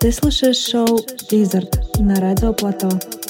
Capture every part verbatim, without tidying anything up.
Ты слушаешь шоу Wizard на радио Плато.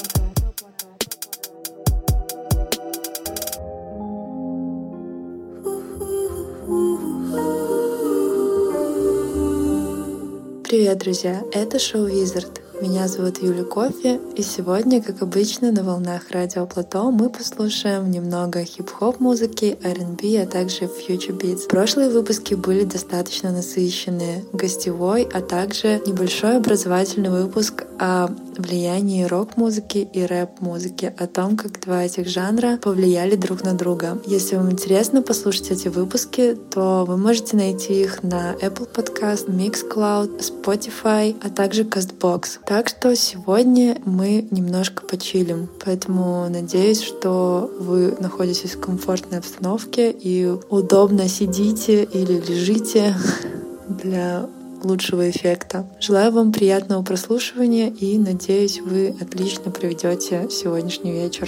Привет, друзья! Это шоу Wizard. Меня зовут Юля Кофе, и сегодня, как обычно, на волнах радио Плато мы послушаем немного хип-хоп музыки, ар энд би, а также future beats. Прошлые выпуски были достаточно насыщенные, гостевой, а также небольшой образовательный выпуск о влиянии рок-музыки и рэп-музыки, о том, как два этих жанра повлияли друг на друга. Если вам интересно послушать эти выпуски, то вы можете найти их на Apple Podcast, Mixcloud, Spotify, а также CastBox. Так что сегодня мы немножко почилим, поэтому надеюсь, что вы находитесь в комфортной обстановке и удобно сидите или лежите для лучшего эффекта. Желаю вам приятного прослушивания и надеюсь, вы отлично проведете сегодняшний вечер.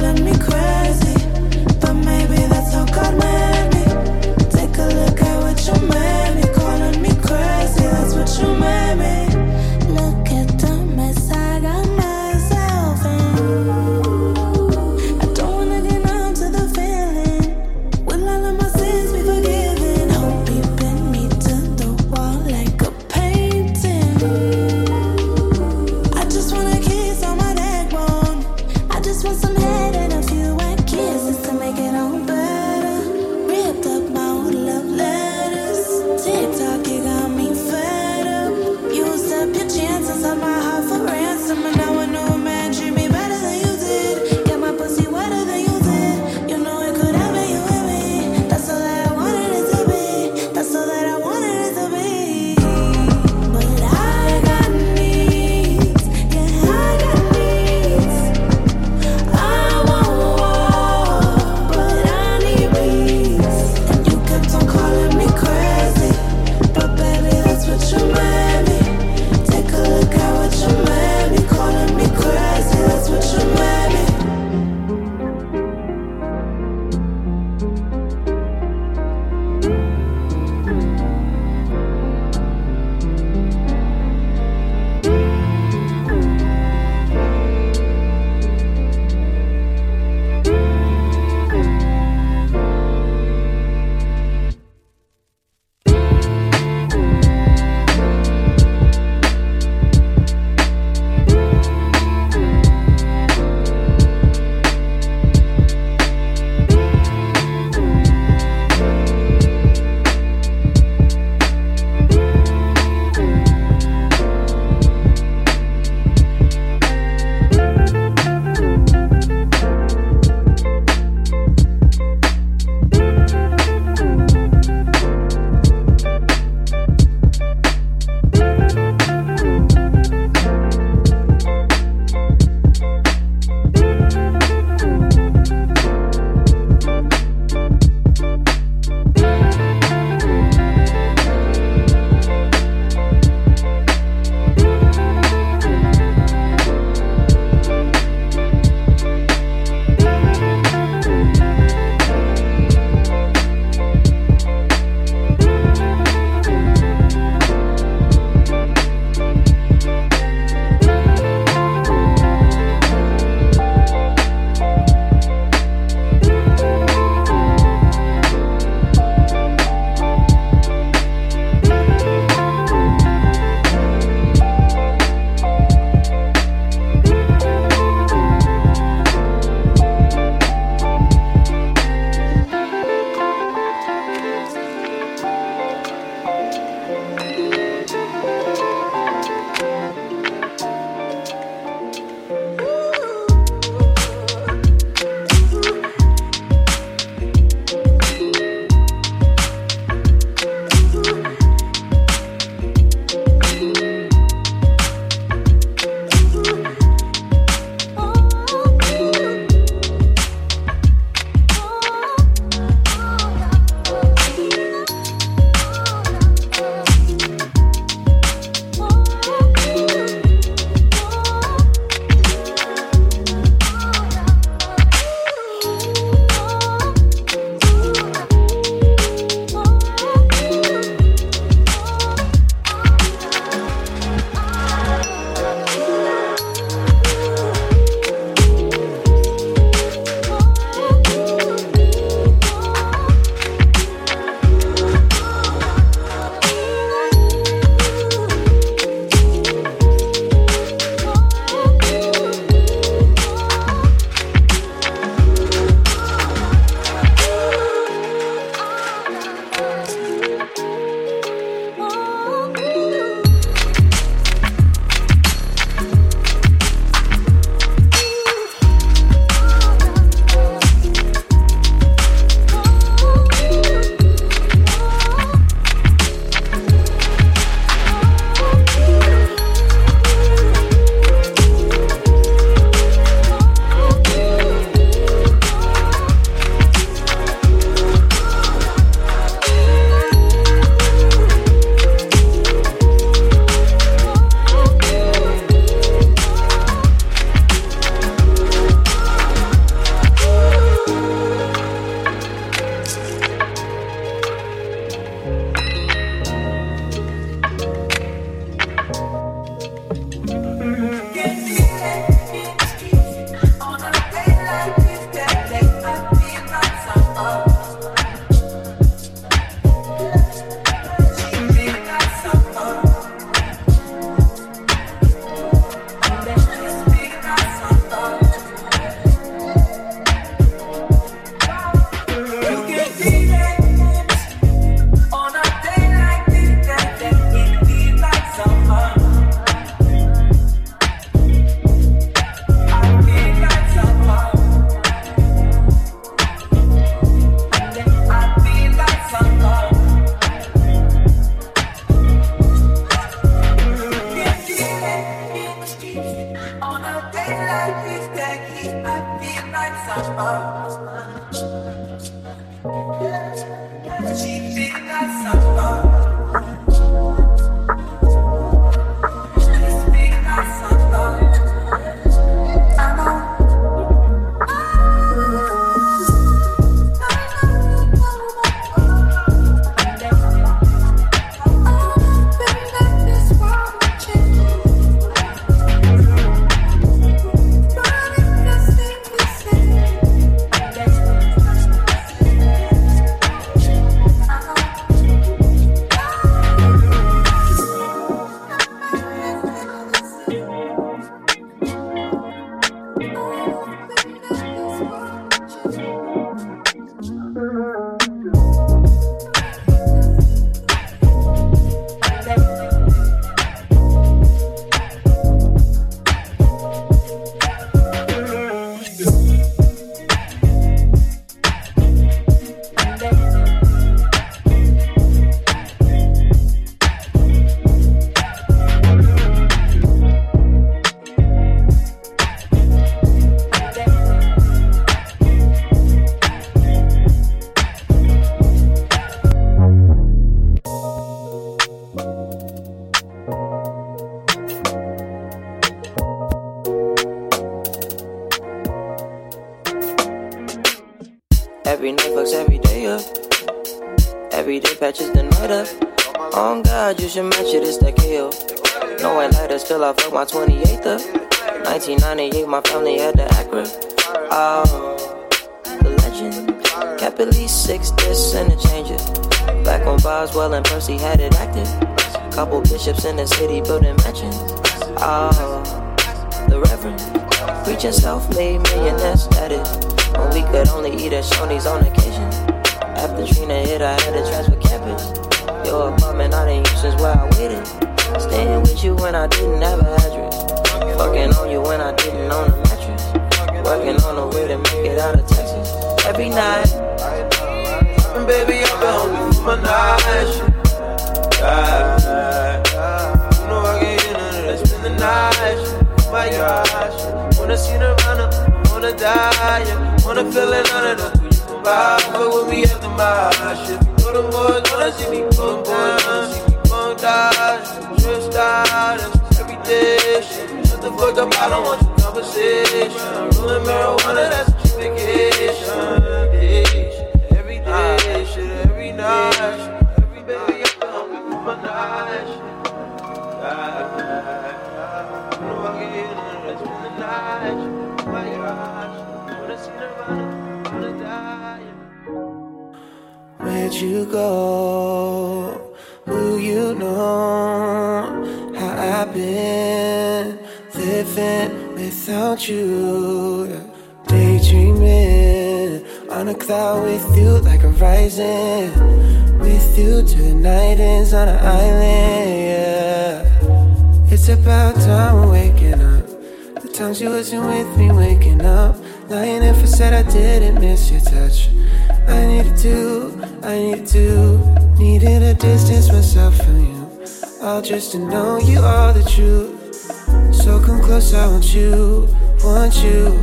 Take a look at what you Every night fucks every day up. Every day patches the night up. On God, you should match it, it's that K O. No one lighter, still I fuck my twenty-eighth up. nineteen ninety-eight, my family had the Acura. Oh, the legend. Kept at least six discs and a changer. Back when Boswell and Percy had it active. Couple bishops in the city building mansions. Oh, the Reverend. Preaching self-made millionaire status. When we could only eat at Shoney's on occasion. After Trina hit, I had to transfer campus. Your apartment I didn't use since where I waited. Staying with you when I didn't have an address. Fucking on you when I didn't own a mattress. Working on a way to make it out of Texas. Every night. And baby, I've been hungry for my night shit. Yeah. You know I can't get none of that. Spend the night shit. My gosh. Wanna see Nirvana, wanna die, yeah. Wanna feel it under the you can buy. Fuck with me after my shit. Know them boys wanna see me go down. See me go down. Stressed out, every day shit. Shut the fuck up, I don't want your conversation. Rolling marijuana, that's a cheap vacation. Every day shit, every night shit. Every baby, I'm hungry for my night shit. You know I can hear none of that. Spend the night shit. My gosh, wanna see Nirvana, wanna die. Where'd you go? Who you know? How I've been living without you. Daydreaming on a cloud with you like a rising. With you till the night ends on an island, yeah. It's about time we're waking up. The times you wasn't with me waking up. Lying if I said I didn't miss your touch. I needed to, I needed to. Needed to distance myself from you. All just to know you are the truth. So come close, I want you, want you.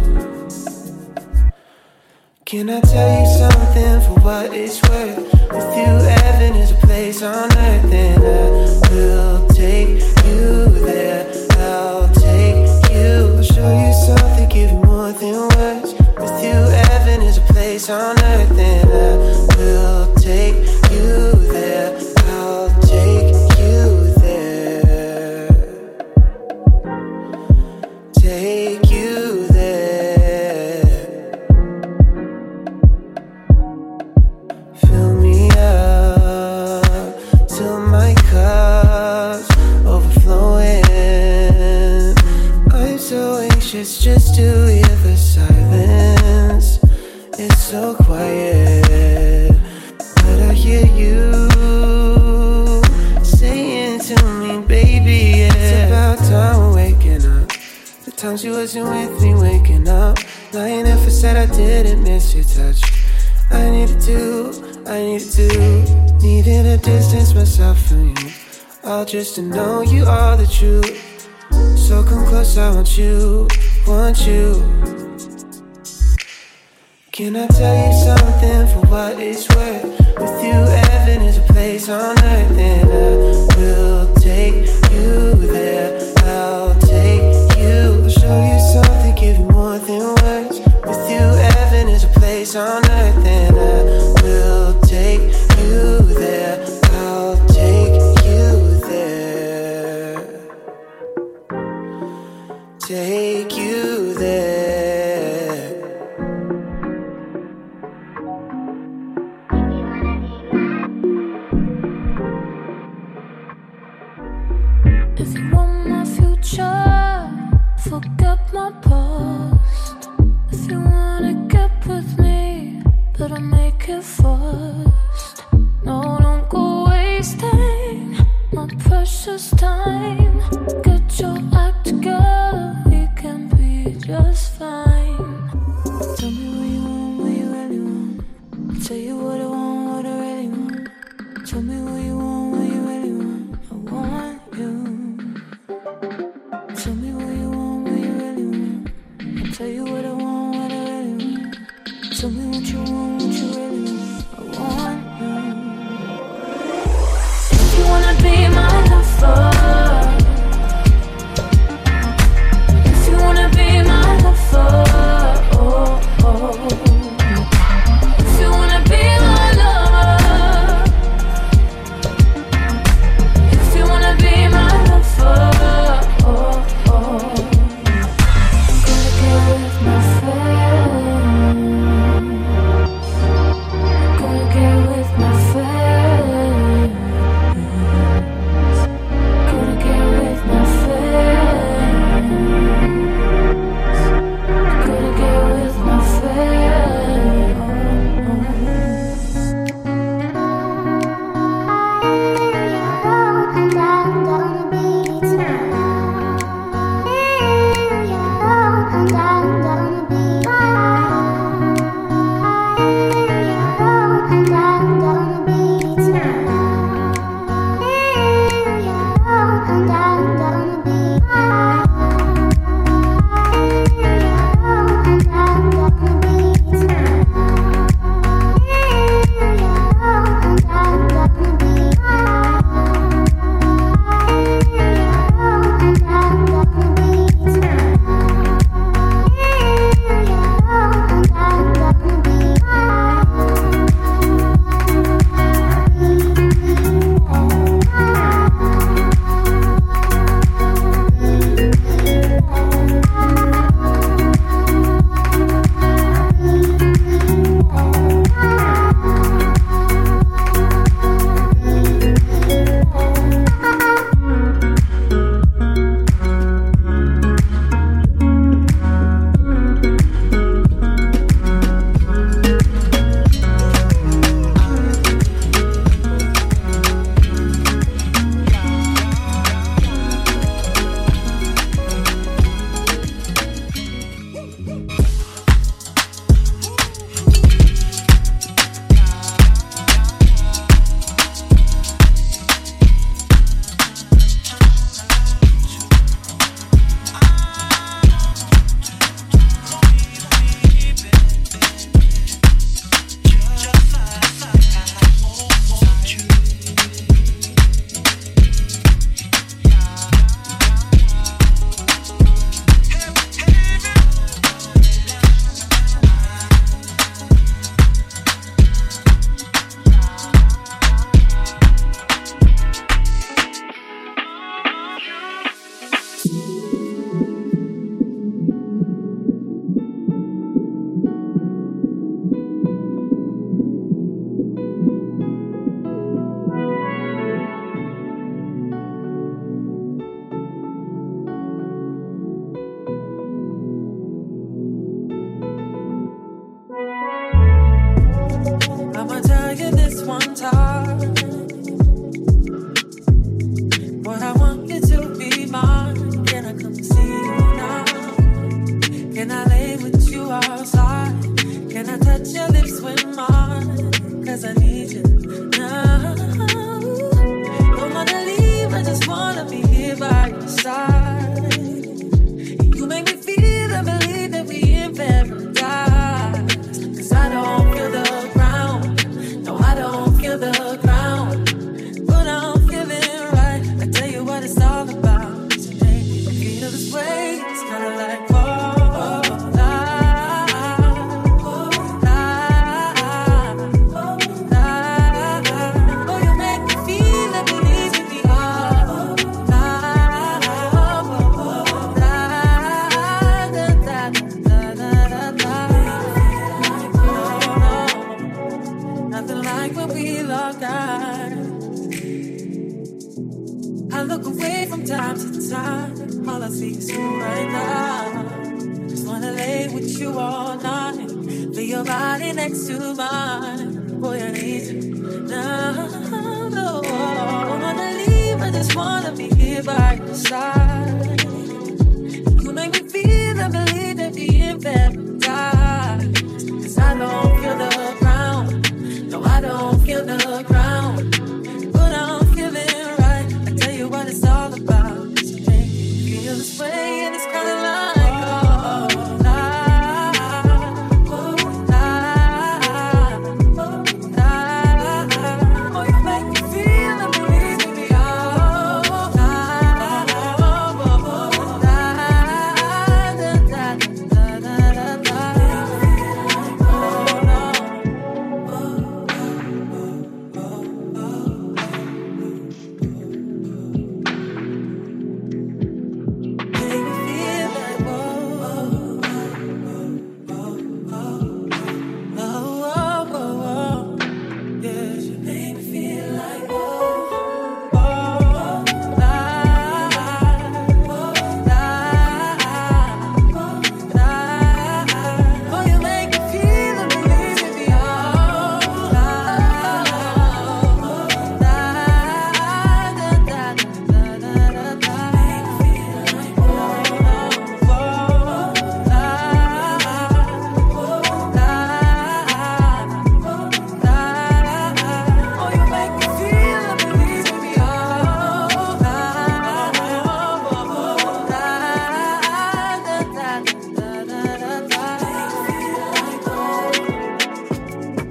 Can I tell you something for what it's worth? With you, heaven is a place on earth. And I will take you there, I'll take you. I'll show you something, give you more than words. With you, heaven is a place on earth. And I will take you there, I'll take you there. Take you there. Fill me up till my cup's overflowing. I'm so anxious just to hear the silence. It's so quiet, but I hear you saying to me, baby, yeah. It's about time we're waking up. The times you wasn't with me waking up. Lying if I said I didn't miss your touch. I needed to, I needed to. Needed to distance myself from you. All just to know you are the truth. So come close, I want you, want you. Can I tell you something for what it's worth? With you, heaven is a place on earth, and I will take you there. I'll take you, I'll show you something, give you more than words. With you, heaven is a place on earth, and I will take you there. I'll take you there. Take you there. If you want my future, forget my past. If you wanna get with me, better make it fast. No, don't go wasting my precious time. Get your act together, we can be just fine. Tell me what you want, what you really want. I'll tell you what I want, what I really want. Tell me what you want, what you really want. I want you. Tell me what you want, what you really want. I'll tell you what I want, what I really want. Tell me what you want, what you really want. I want you. If you wanna be my lover, if you wanna be my lover, oh, oh. If you wanna be my lover, nothing like when we locked eyes. I look away from time to time. All I see is you right now. Just wanna lay with you all night. Feel your body next to mine. Boy, I need you now. No, I don't wanna leave. I just wanna be here by your side. You make me feel and believe that we in paradise. Cause I don't feel the ground. No, I don't feel the ground. But I'm feeling right. I tell you what it's all about. Cause you make me feel this way. And it's kinda like, oh, nah, oh, nah, oh, nah. Oh, you make me feel and believe me. Oh, nah, oh, oh, oh, nah, da, da, da, da, da, da. Oh, no. Make me feel like, whoa, oh, oh, oh, oh. Yeah, you make me feel like, whoa, oh, nah, oh, nah, oh, nah. Oh, you make me feel and believe in me. Oh, nah, oh, nah, da, da, da, da, da, da. Make me feel like, whoa, oh, nah, oh, nah, nah. Oh, you make me feel and believe in me. Oh, nah, oh, oh, nah, da, da, da, da, da, da. Make me feel like, oh.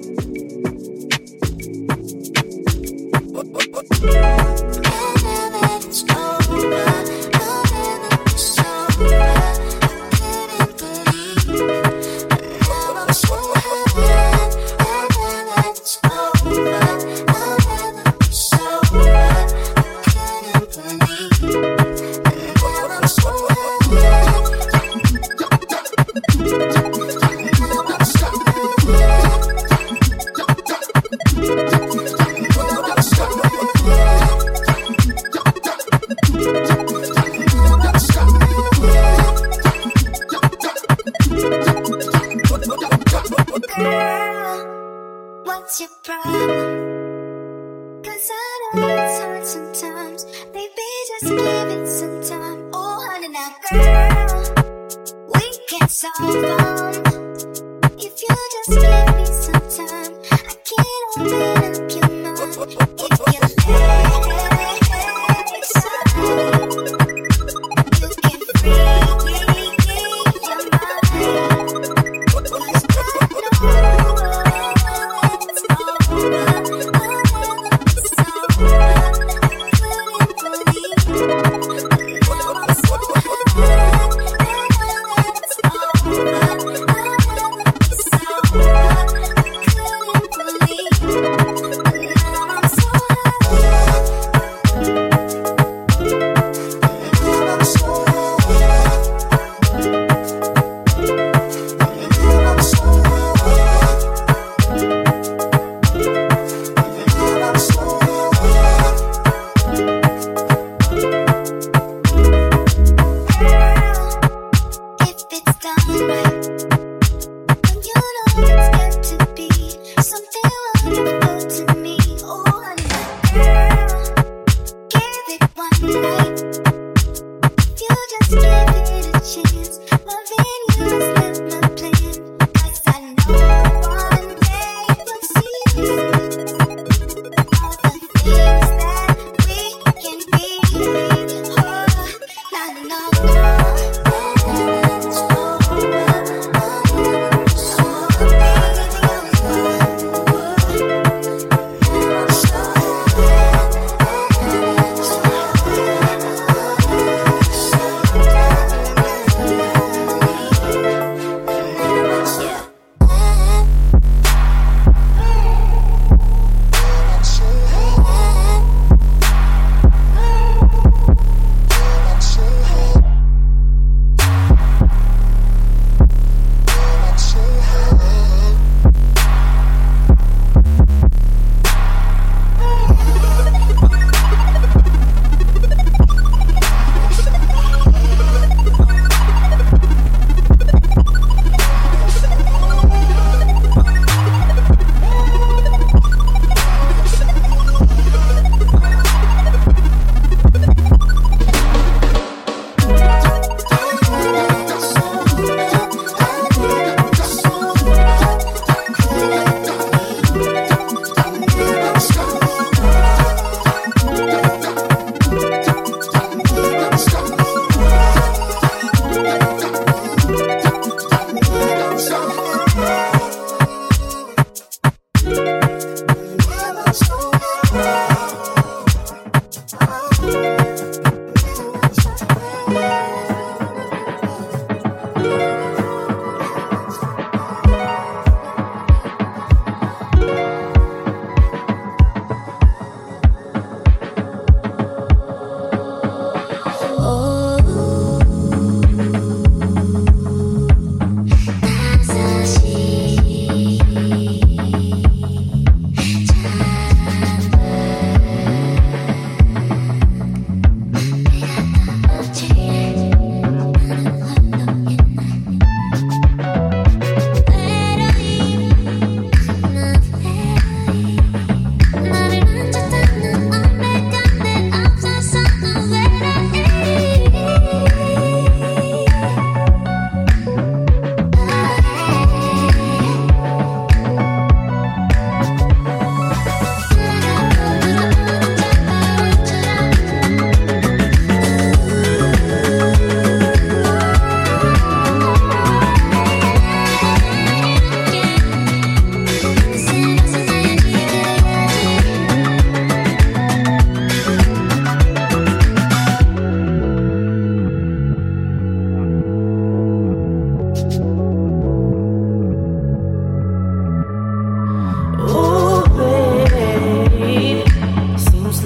Girl, what's your problem? Cause I know it's hard sometimes. Baby, just give it some time. Oh, honey, now, girl, we can solve them. If you just give me some time, I can open up your mind. If you let it slide, you can free your mind. Cause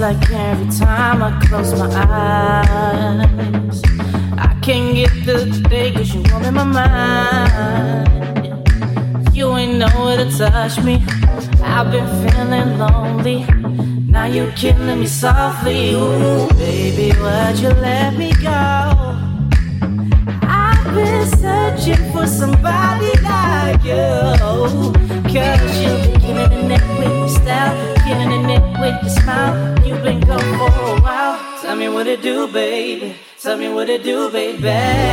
like every time I close my eyes, I can't get through the day cause you all in my mind. You ain't nowhere to touch me, I've been feeling lonely. Now you're killing me softly. Ooh, baby, why'd you let me go? I've been searching for somebody like you, cause you've been killing the net with your style, killing the net with your smile. You've been gone for a while. Tell me what it do, baby. Tell me what it do, baby.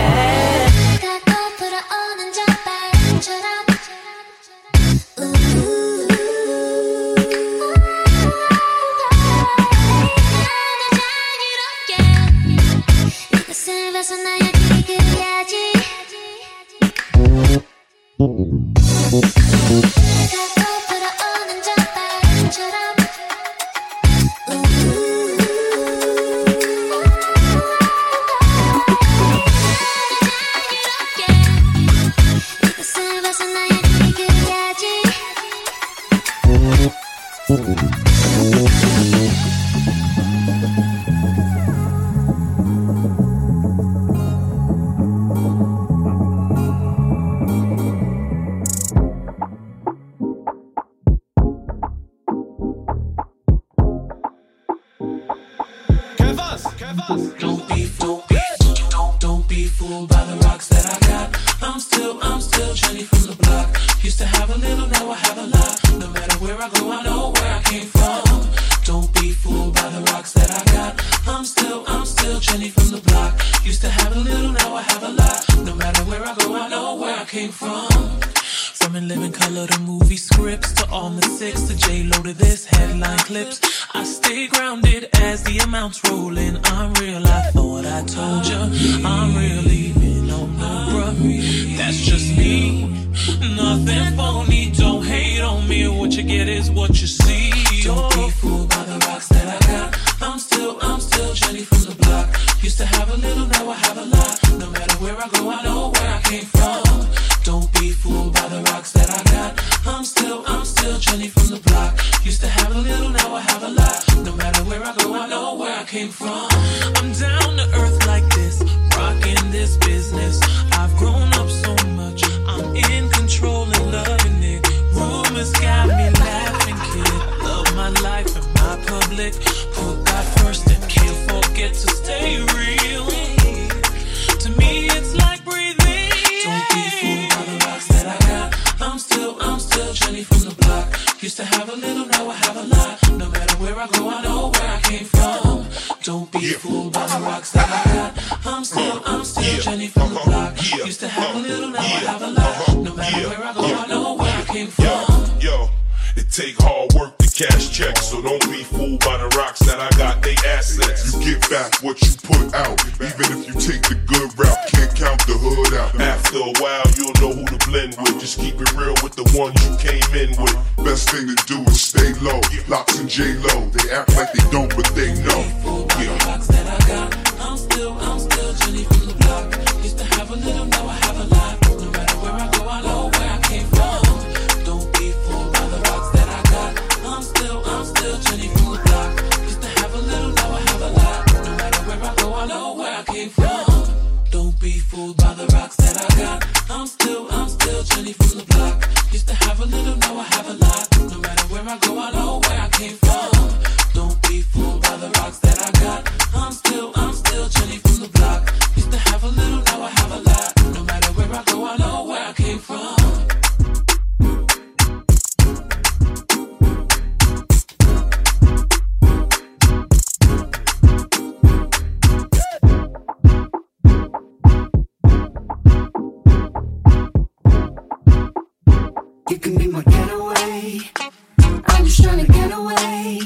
Don't be fooled, don't, don't be fooled by the rocks that I got. I'm still, I'm still Jenny from the block. Used to have a little, now I have a lot. No matter where I go, I know where I came from. Don't be fooled by the rocks that I got. I'm still, I'm still Jenny from the block. Used to have a little, now I have a lot. No matter where I go, I know where I came from. From in living color to movie scripts, to all the six, to J-Lo to this headline clips. I stay grounded as the amounts roll in. I'm real, I thought I told ya. I'm really been on no bruh. That's just me, nothing phony. Don't hate on me, what you get is what you see. Don't be fooled by the rocks that I got. I'm still, I'm still Jenny from the block. Used to have a little, now I have a lot. No matter where I go, I know where I came from. Don't be fooled by the rocks that I got. I'm still, I'm still Jenny from the block. Used to have a little, now I have a lot. No matter where I go, I know where I came from. I'm down to earth like this, rocking this business. I've grown up so much, I'm in control and loving it. Rumors got me laughing, kid. Love my life and my public. Put God first and can't forget to stay real. To me, it's like breathing. Don't be fooled by the rocks that I got. I'm still, I'm still Jenny from the block. Used to have a little, now I have a lot. No matter where I go, I know where I came from. Don't be yeah. fooled by the rocks that I got. I'm still, I'm still yeah. Jenny from the block. Yeah. Used to have a little, now yeah. I have a lot. Uh-huh. No matter yeah. where I go, yeah. I know where I came from. Yo, yo, it take hard work to cash checks, so don't be fooled by the rocks that I got. They assets. You get back what you put out, even if you take the good route. Can't count the hood out. After a while, you'll know who to blend with. Just keep it real with the ones you came in with. Best thing to do is stay low. Locks and J-Lo, they act like they don't, but they know. Yeah. Rocks that I got. I'm still, I'm still Jenny from the block. Used to have a little, now I have a lot. No matter where I go, I know where I came from. Don't be fooled by the rocks that I got. I'm still, I'm still Jenny from the block. Used to have a little, now I have a lot. No matter where I go, I know where I came from. Don't be fooled by the rocks that I got. I'm still, I'm still Jenny from the block. Used to have a little, now I have a lot. No matter where I go, I know where I came from. Don't be fooled by the rocks that I got. I'm still, I'm still Jenny from the block. Used to have a little, now I have a lot. No matter where I go, I know where I came from. You can be my getaway. I'm just trying to get away.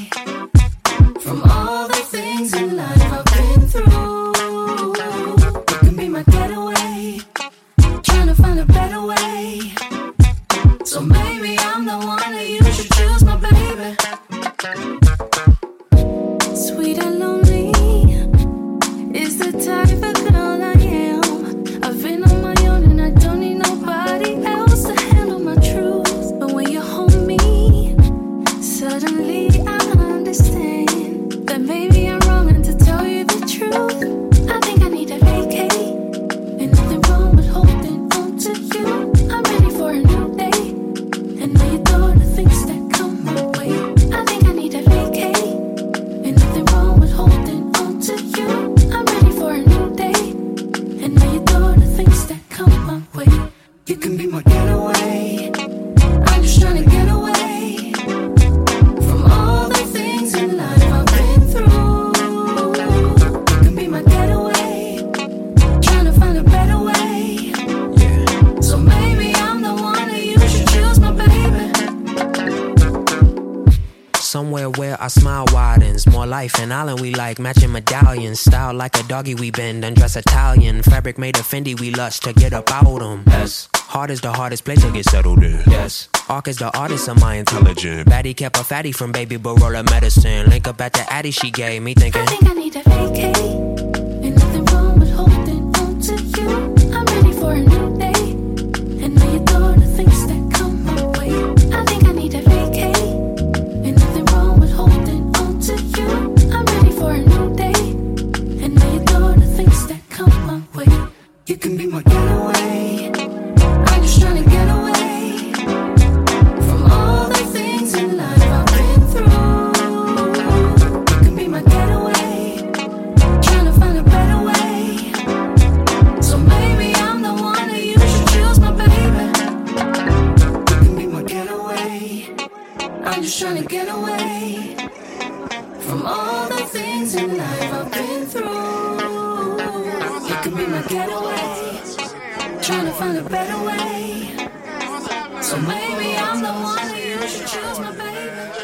Somewhere where our smile widens. More life in Island we like. Matching medallions. Style like a doggy we bend. Undress Italian. Fabric made of Fendi we lust to get up out them. Yes. Heart is the hardest place to get settled in. Yes. Arc is the artist of my intelligence. Baddie kept a fatty from baby Barola medicine. Link up at the Addy she gave me thinking. I think I need a vacate. Ain't nothing wrong with holding on to you. I'm ready for a new day. And now you throw the things that come my way. I think I need a vacate. Ain't nothing wrong with holding on to you. I'm ready for a new day. And now you throw the things that come my way. You can be my getaway. I'm just trying to get away from all the things in life I've been through. You can be my getaway. Trying to find a better way. So maybe I'm the one that you should choose, my baby. You can be my getaway. I'm just trying to get away from all the things in life I've been through. You can be my getaway. Trying to find a better way. So maybe I'm the one that you should choose, my baby.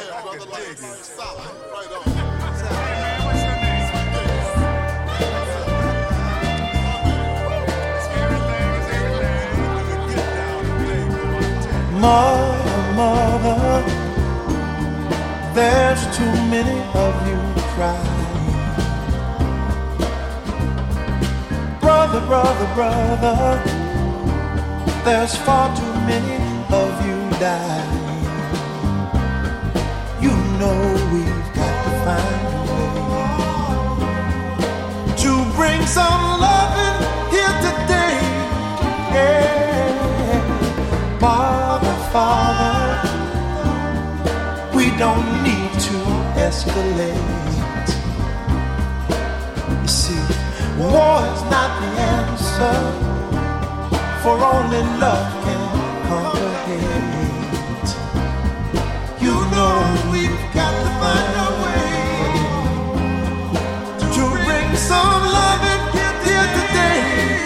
Mother, mother, there's too many of you crying. Brother, brother, brother, there's far too many of you dying. You know we've got to find a way to bring some loving here today. Yeah. Father, Father, we don't need to escalate. You see, war is not the answer, for only love can conquer hate. You know we've got to find a way to bring some love in here today.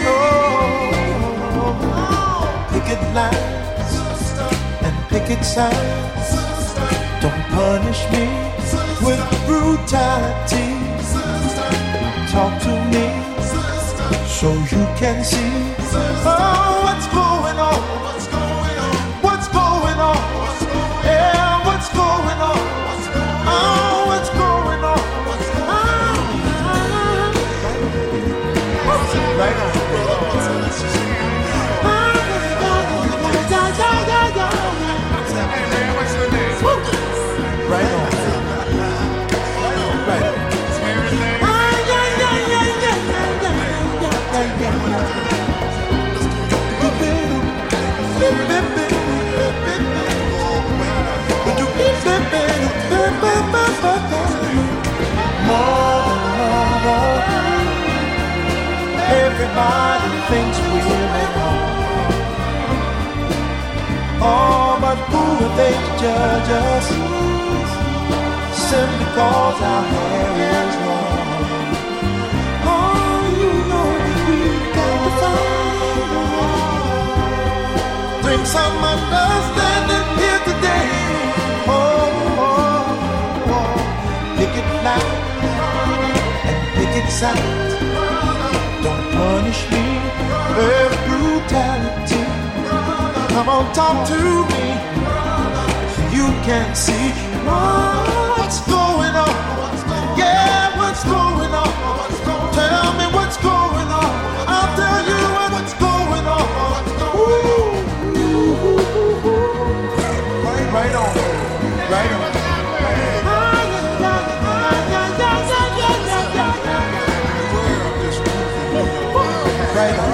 Oh, picket lines and picket signs. Don't punish me with brutality. Talk to me so you can see. Oh, what's going on? What's going on? Yeah, what's going on? Oh, what's going on? Right on. Right on. Right on. Everybody thinks we're at home. Oh, but who are they to judge us? Simply cause our hair is long. Oh, you know we've got to find. Bring some understanding here today. Oh, oh, oh. Picket line and picket sign. Don't punish me with brutality. Come on, talk to me so you can see what's going on. Yeah, what's going on? Tell me what's going on. I'll tell you what's going on. Ooh. Right on, right on. Right on.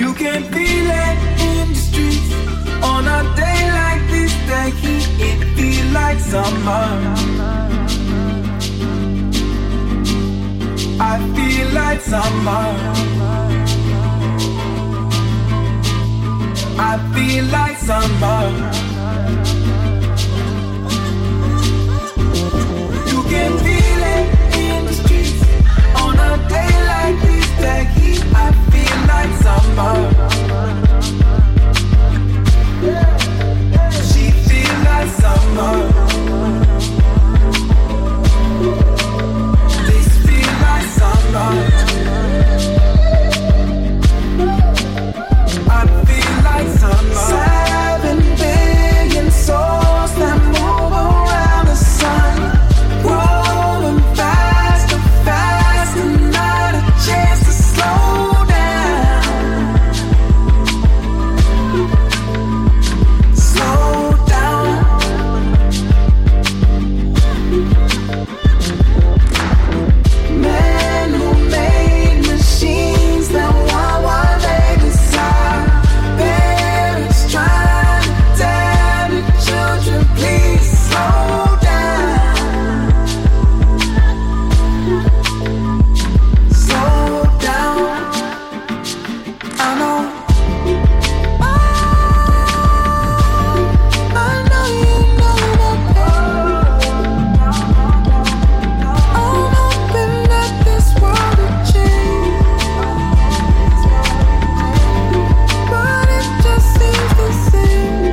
You can feel it in the streets. On a day like this, the heat, it feels like summer. I feel like summer. I feel like summer. You can feel it in the streets. On a day like this, the heat, I feel like summer. She feel like summer. This feel like summer. I feel like summer. Seven billion souls that move around the sun, growing faster, faster, not a chance to slow down. Slow down. Men who made machines that want what they desire. Parents trying to tell the children, please slow down. Slow down. I know. I know you know that. I'm hoping that this world will change, but it just seems the same.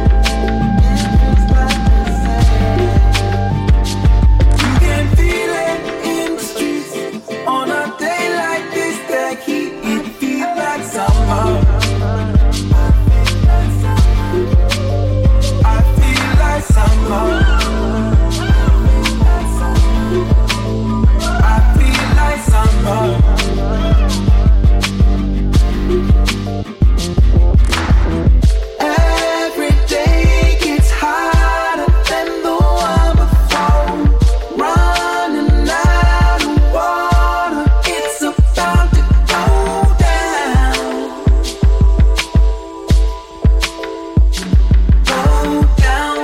You can feel it in the streets. On a day like this, the heat, it feels like summer. I feel like summer. I feel like summer. Every day gets hotter than the one before. Running out of water, it's about to go down. Go down.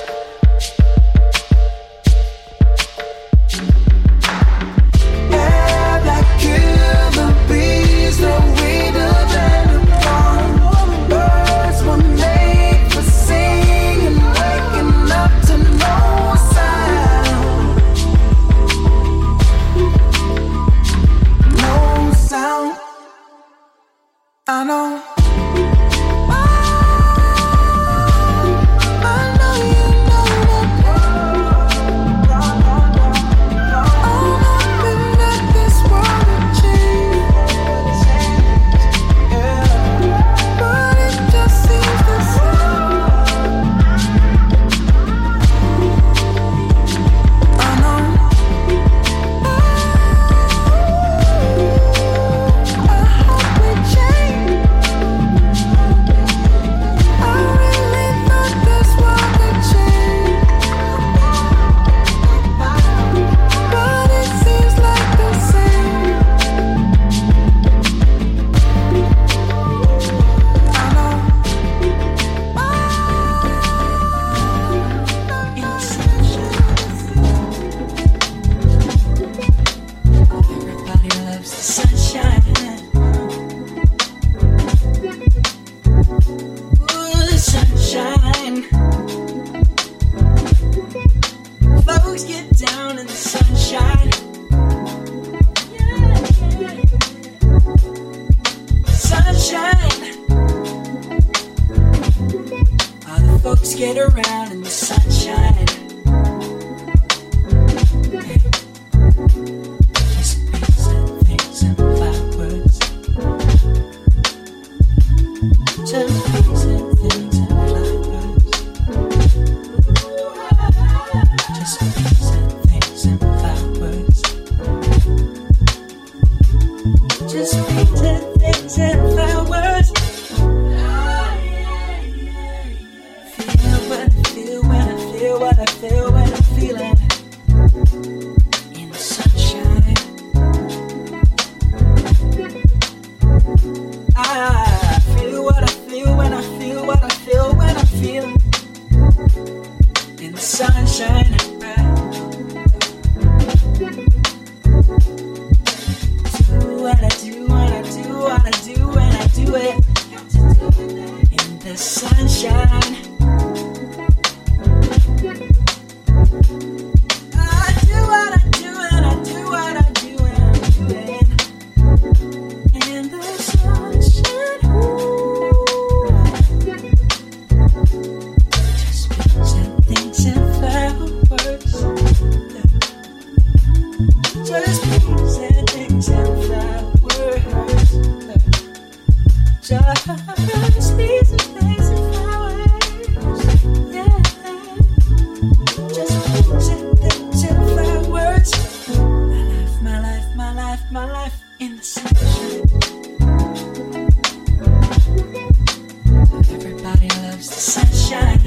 Air that killer bees, the weeder than the bomb. Birds were made for singing, waking up to no sound. No sound. I know. I know you know that. I'm hoping that this world will change, but it just seems the same. I know. I hope we change. I really thought this world would change, but it seems like the same. I know. Everybody loves the sunshine. Ooh, the sunshine. Folks get down in the sunshine. Sunshine. All the folks get around in the sunshine. Just peace and things and flowers. Just peace and things and flowers. Just peace and things and flowers. Just peace and things and flowers. Feel what I feel when I feel what I feel when I'm feeling in the sunshine. I feel the sunshine. I do what I do and I do what I do and I'm doing in the sunshine. Just beats and things and flowers. Just beats and things and flowers. Just beats and things and flowers. Yeah. Just beats and things and flowers. My life, my life, my life, my life in the sunshine. Everybody loves the sunshine.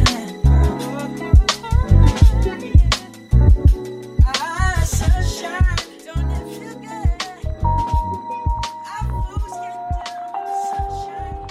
Ah, sunshine, don't it feel good? Our fools get down in the sunshine.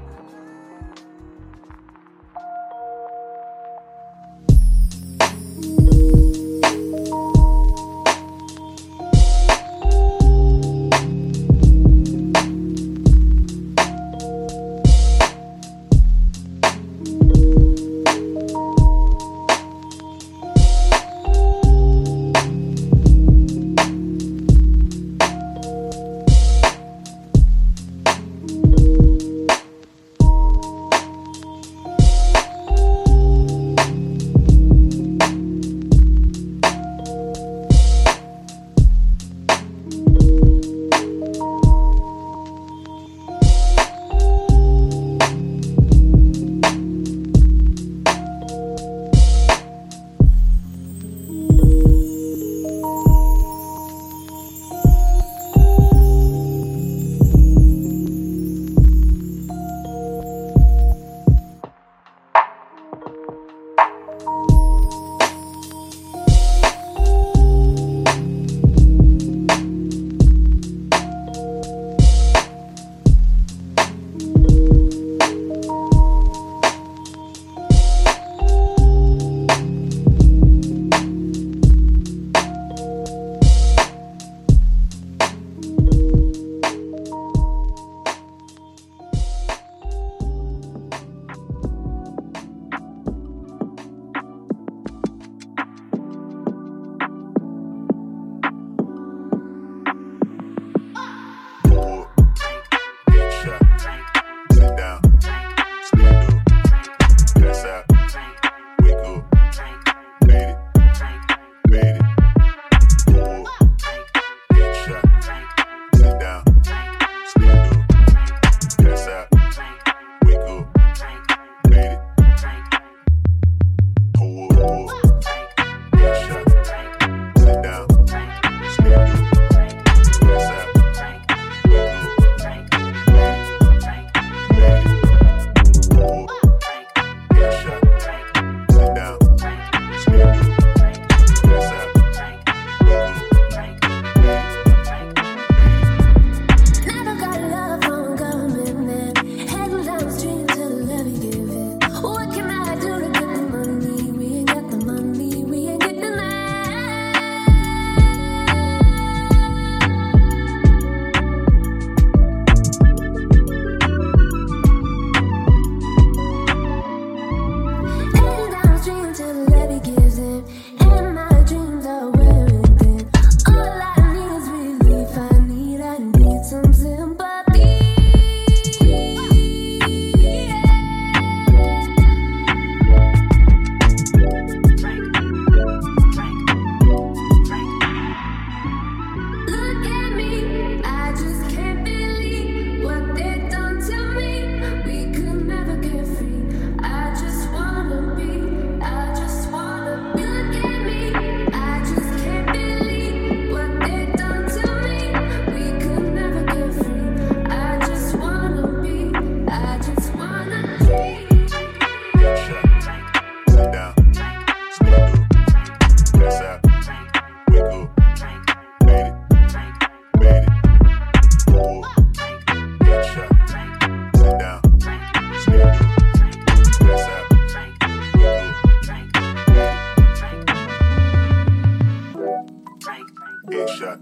Headshot.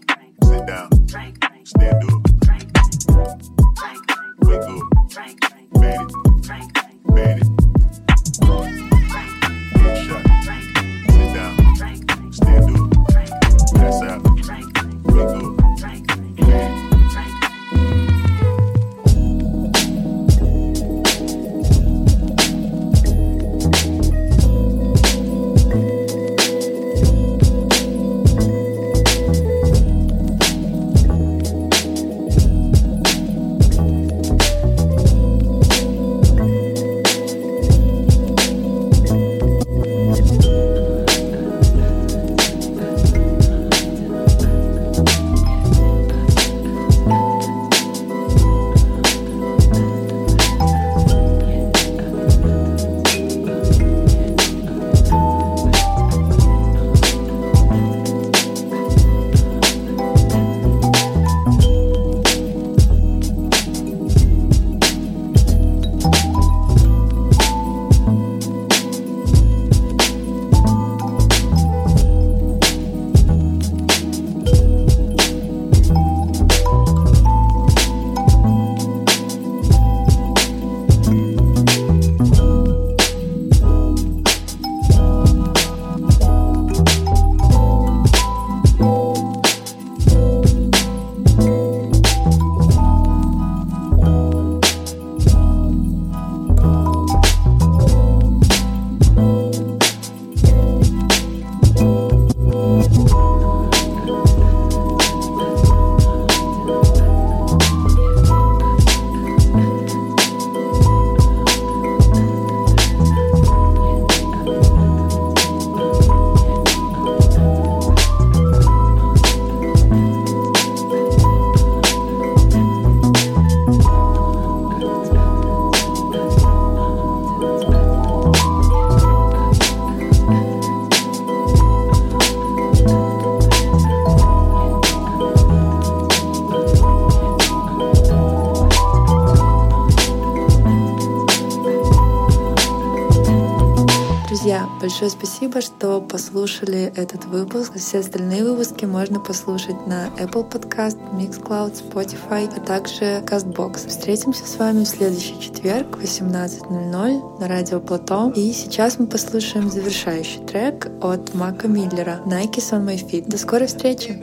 Sit down. Stand up. Wake up. Made it. Друзья, большое спасибо, что послушали этот выпуск. Все остальные выпуски можно послушать на Apple Podcast, Mixcloud, Spotify, а также CastBox. Встретимся с вами в следующий четверг в восемнадцать ноль ноль на радио Плато. И сейчас мы послушаем завершающий трек от Мака Миллера «Nike's on my feet». До скорой встречи!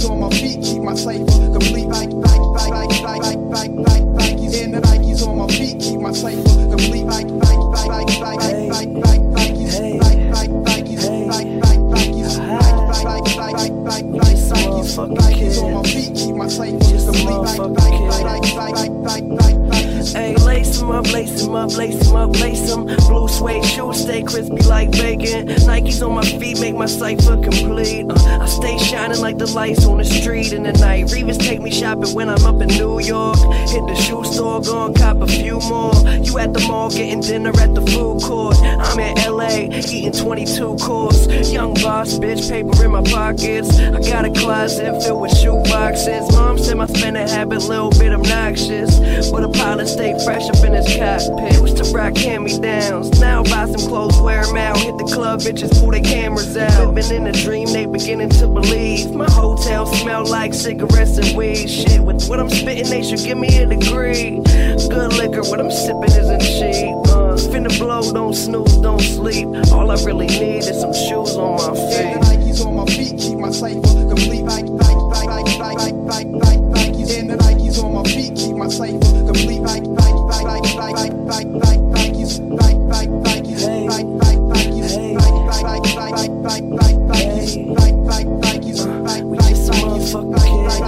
Hey, lace 'em up, lace 'em up, lace 'em up, lace 'em. Blue suede shoes stay crispy like bacon. Nikes on my feet make my cipher complete. Uh, I stay shining like the lights on the street in the night. Revis take me shopping when I'm up in New York. Hit the shoe store, gon' cop a few more. You at the mall getting dinner at the food court. I'm in L A eating twenty-two course. Young boss, bitch, paper in my pockets. I got a closet filled with shoe boxes. Mom said my spending habit a little bit obnoxious, but a pilot stay fresh up in his cockpit. Used to rock hand-me-downs, now buy some clothes, wear them out. Hit the club, bitches pull their cameras out. Living in a dream, they beginning to believe. My hotel smell like cigarettes and weed. Shit, with what I'm spitting, they should give me a degree. Good liquor, what I'm sipping isn't cheap. Uh, finna blow, don't snooze, don't sleep. All I really need is some shoes on my feet. And the Nikes on my feet keep my cipher complete. Nike, Nike, Nike, Nike, Nike, Nike, Nikes. And the Nikes on my feet keep my cipher complete. Nike, Nike, Nike, Nike, Nike, Nike, Nikes. Nike, Nike, Nikes. Nike, Nike, Nikes. Nike, Nike, Nike, Nike, Nike, Nikes. Nike, Nike, Nikes. We get some motherfucking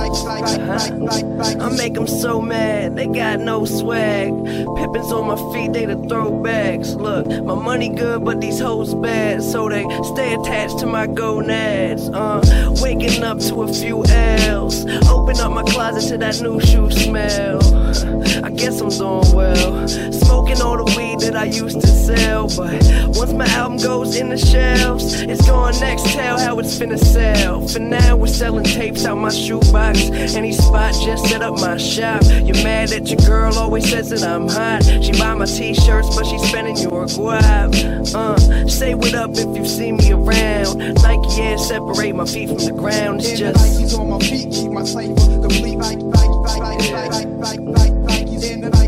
kids. I make them so mad, they got no swag. Pippins on my feet, they the throwbacks. Look, my money good, but these hoes bad, so they stay attached to my gonads. Uh, waking up to a few L's. Open up my closet to that new shoe smell. I guess I'm doing well. Smoking all the weed that I used to sell, but once my album goes in the shelves, it's going next. Tell how it's finna sell. For now, we're selling tapes out my shoebox. Any spot, just set up my shop. You're mad that your girl always says that I'm hot. She buy my t-shirts, but she's spending your guap. Uh, say what up if you see me around. Nike Air separate my feet from the ground. It's just Nikes on my feet keep my cipher complete. Nike, Nike, Nike, Nike, Nike, Nike, Nikes. And the